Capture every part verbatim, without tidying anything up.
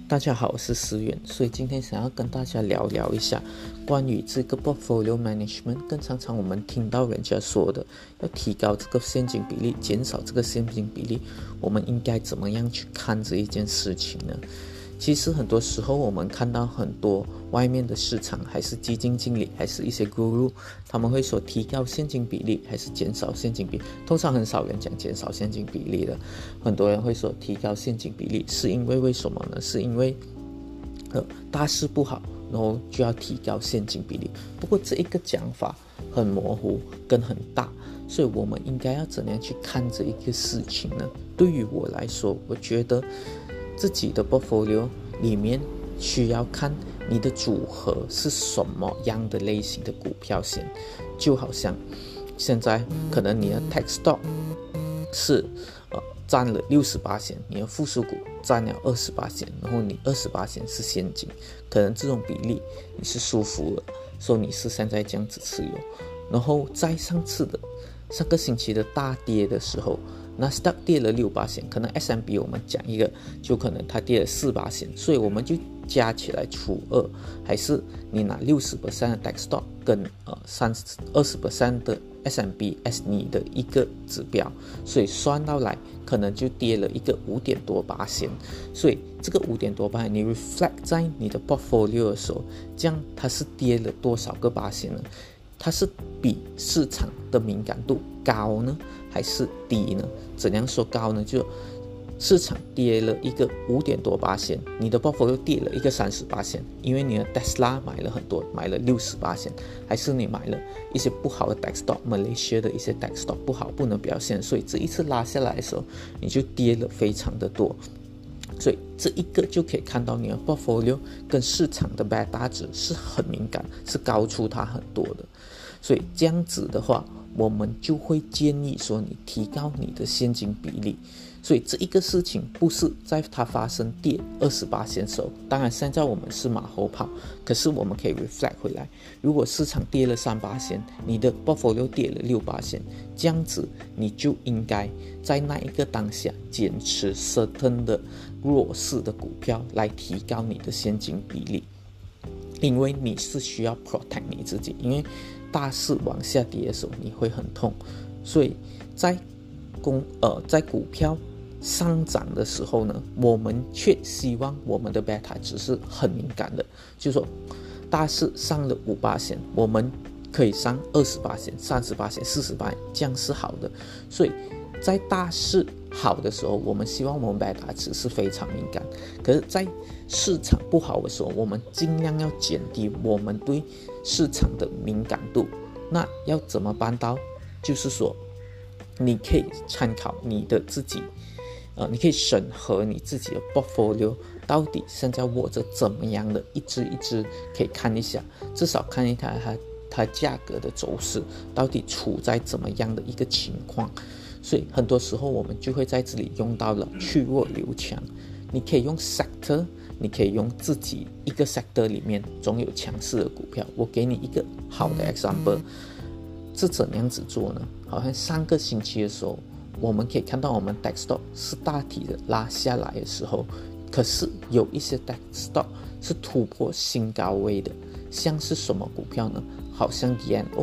大家好，我是思远，所以今天想要跟大家聊聊一下关于这个 portfolio management， 更常常我们听到人家说的要提高这个现金比例，减少这个现金比例，我们应该怎么样去看这一件事情呢？其实很多时候我们看到很多外面的市场，还是基金经理，还是一些 guru， 他们会说提高现金比例还是减少现金比例，通常很少人讲减少现金比例的，很多人会说提高现金比例，是因为为什么呢？是因为呃大势不好，然后就要提高现金比例。不过这一个讲法很模糊跟很大，所以我们应该要怎样去看这一个事情呢？对于我来说，我觉得自己的 portfolio 里面需要看你的组合是什么样的类型的股票先，就好像现在可能你的 tech stock 是呃占了 百分之六十， 你的附属股占了 百分之二十， 然后你 百分之二十 是现金，可能这种比例你是舒服了，所以你是现在这样子持有。然后在上次的上个星期的大跌的时候，纳斯达克跌了 百分之六， 可能 S and P 我们讲一个就可能它跌了 百分之四， 所以我们就加起来除二，还是你拿 百分之六十 的 tech stock 跟呃 二十 的 S and P as 你的一个指标，所以算到来可能就跌了一个五点多八仙，所以这个五点多八你 reflect 在你的 portfolio 的时候，这样它是跌了多少个八仙呢？它是比市场的敏感度高呢，还是低呢？怎样说高呢？就市场跌了一个五点多八仙，你的 portfolio 跌了一个三十八仙，因为你的 Tesla 买了很多，买了六十八仙，还是你买了一些不好的 tech stock， Malaysia 的一些 tech stock 不好，不能表现，所以这一次拉下来的时候，你就跌了非常的多。所以这一个就可以看到你的 portfolio 跟市场的 beta 值是很敏感，是高出它很多的。所以这样子的话，我们就会建议说你提高你的现金比例。所以这一个事情不是在它发生跌 百分之二十八 的时候，当然现在我们是马后炮，可是我们可以 reflect 回来，如果市场跌了 百分之三， 你的 portfolio 跌了 百分之六， 这样子你就应该在那一个当下减持 certain 的弱势的股票来提高你的现金比例，因为你是需要 protect 你自己，因为大势往下跌的时候你会很痛，所以在公呃在股票上涨的时候呢，我们却希望我们的 beta 值是很敏感的，就是说大势上了 百分之五， 我们可以上 百分之二十、三十、百分之四十， 这样是好的。所以在大势好的时候，我们希望我们 beta 值是非常敏感，可是在市场不好的时候，我们尽量要减低我们对市场的敏感度。那要怎么办到？就是说你可以参考你的自己呃，你可以审核你自己的 portfolio 到底现在握着怎么样的一只一只，可以看一下，至少看一下它它价格的走势到底处在怎么样的一个情况。所以很多时候我们就会在这里用到了去弱留强，你可以用 sector， 你可以用自己一个 sector 里面总有强势的股票。我给你一个好的 example， 是怎样子做呢？好像上个星期的时候，我们可以看到我们 tech stock 是大体的拉下来的时候，可是有一些 tech stock 是突破新高位的，像是什么股票呢？好像 D N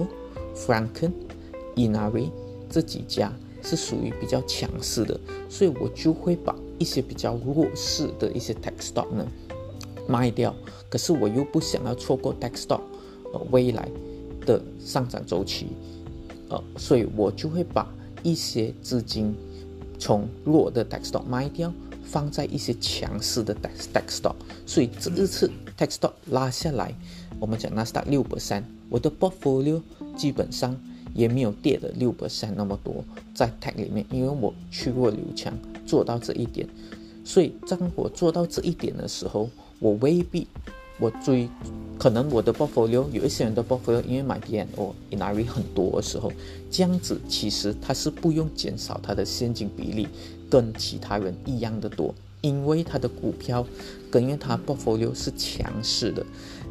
O、Franken、Inari 这几家是属于比较强势的，所以我就会把一些比较弱势的一些 tech stock 呢卖掉，可是我又不想要错过 tech stock、呃、未来的上涨周期，呃，所以我就会把一些资金从弱的 tech stock 卖掉，放在一些强势的 tech stock， 所以这一次 tech stock 拉下来，我们讲纳斯达克 百分之六， 我的 portfolio 基本上也没有跌了 百分之六 那么多在 tech 里面，因为我去弱留强做到这一点。所以当我做到这一点的时候，我未必我追，可能我的 portfolio 有一些人的 portfolio 因为买 D N O、Inari 很多的时候，这样子其实他是不用减少他的现金比例跟其他人一样的多，因为他的股票跟因为他 portfolio 是强势的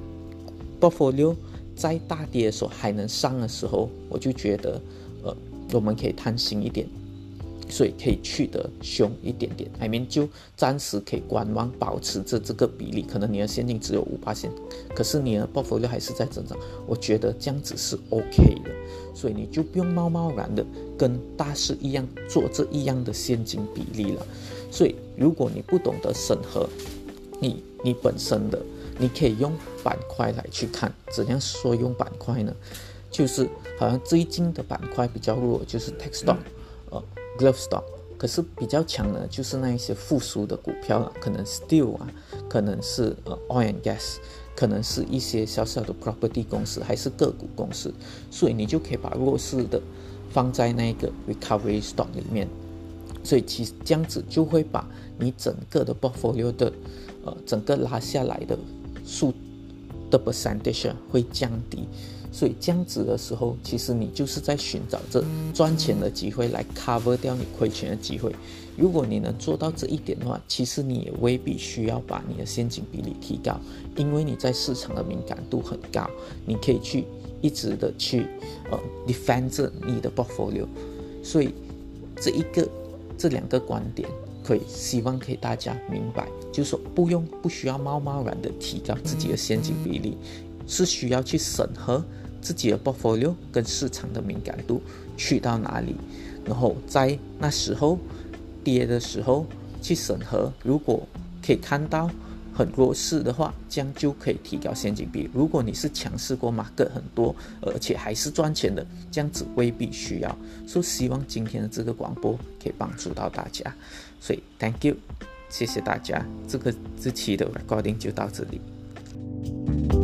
portfolio 在大跌的时候还能上的时候，我就觉得呃我们可以贪心一点， 所以可以去得凶一点点 I mean 就暂时可以观望，保持着这个比例，可能你的现金只有 百分之五， 可是你的 portfolio 还是在增长，我觉得这样子是 OK 的，所以你就不用贸贸然的跟大师一样做这一样的现金比例了。所以如果你不懂得审核你你本身的，你可以用板块来去看。怎样说用板块呢？就是好像最近的板块比较弱，就是 tech stock、呃 glove stock， 可是比较强的就是那一些复苏的股票了，可能 steel 啊，可能是呃 oil and gas， 可能是一些小小的 property 公司，还是个股公司，所以你就可以把弱势的放在那个 recovery stock 里面，所以其实这样子就会把你整个的 portfolio 的呃整个拉下来的数的 percentage 会降低。所以这样子的时候，其实你就是在寻找着赚钱的机会来 cover 掉你亏钱的机会。如果你能做到这一点的话，其实你也未必需要把你的现金比例提高，因为你在市场的敏感度很高，你可以去一直的去呃 defend 着你的 portfolio。所以这一个这两个观点可以希望可以大家明白，就是说不用不需要贸贸然的提高自己的现金比例，是需要去审核自己的 portfolio 跟市场的敏感度去到哪里，然后在那时候跌的时候去审核，如果可以看到很弱势的话，这样就可以提高现金比例。如果你是强势过 market 很多，而且还是赚钱的，这样子未必需要。所以希望今天的这个广播可以帮助到大家，所以 thank you， 谢谢大家，这个这期的 recording 就到这里。